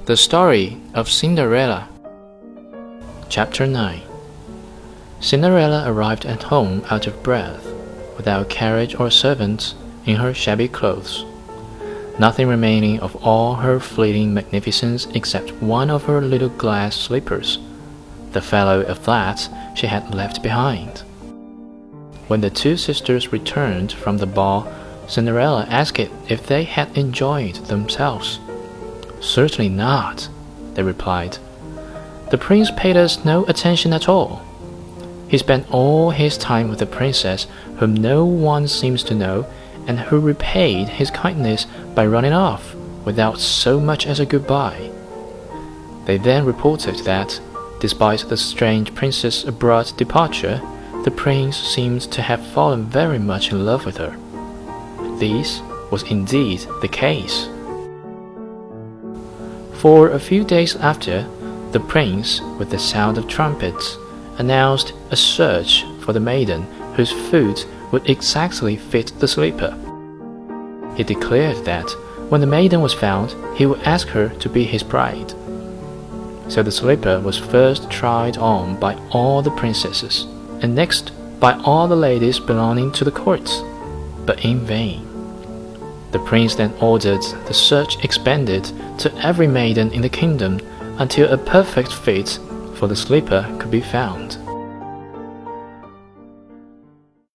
The Story of Cinderella. Chapter 9. Cinderella arrived at home out of breath, without carriage or servants, in her shabby clothes, nothing remaining of all her fleeting magnificence except one of her little glass slippers, the fellow of that she had left behind. When the two sisters returned from the ball, Cinderella asked if they had enjoyed themselves. "Certainly not," they replied. "The prince paid us no attention at all. He spent all his time with the princess, whom no one seems to know, and who repaid his kindness by running off without so much as a goodbye." They then reported that, despite the strange princess' abrupt departure, the prince seemed to have fallen very much in love with her. This was indeed the case. For a few days after, the prince, with the sound of trumpets, announced a search for the maiden whose foot would exactly fit the slipper. He declared that when the maiden was found, he would ask her to be his bride. So the slipper was first tried on by all the princesses, and next by all the ladies belonging to the court, but in vain. The prince then ordered the search expanded to every maiden in the kingdom until a perfect fit for the slipper could be found.